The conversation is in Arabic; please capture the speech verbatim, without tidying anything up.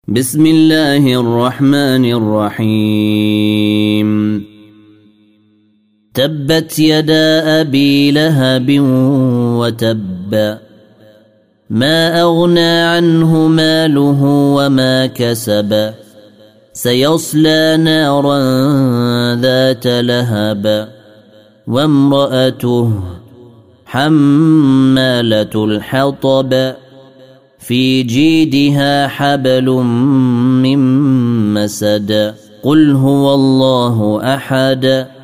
بسم الله الرحمن الرحيم تبت يدا أبي لهب وتب ما أغنى عنه ماله وما كسب سيصلى نارا ذات لهب وامرأته حمالة الحطب في جيدها حبل من مسد قل هو الله أحد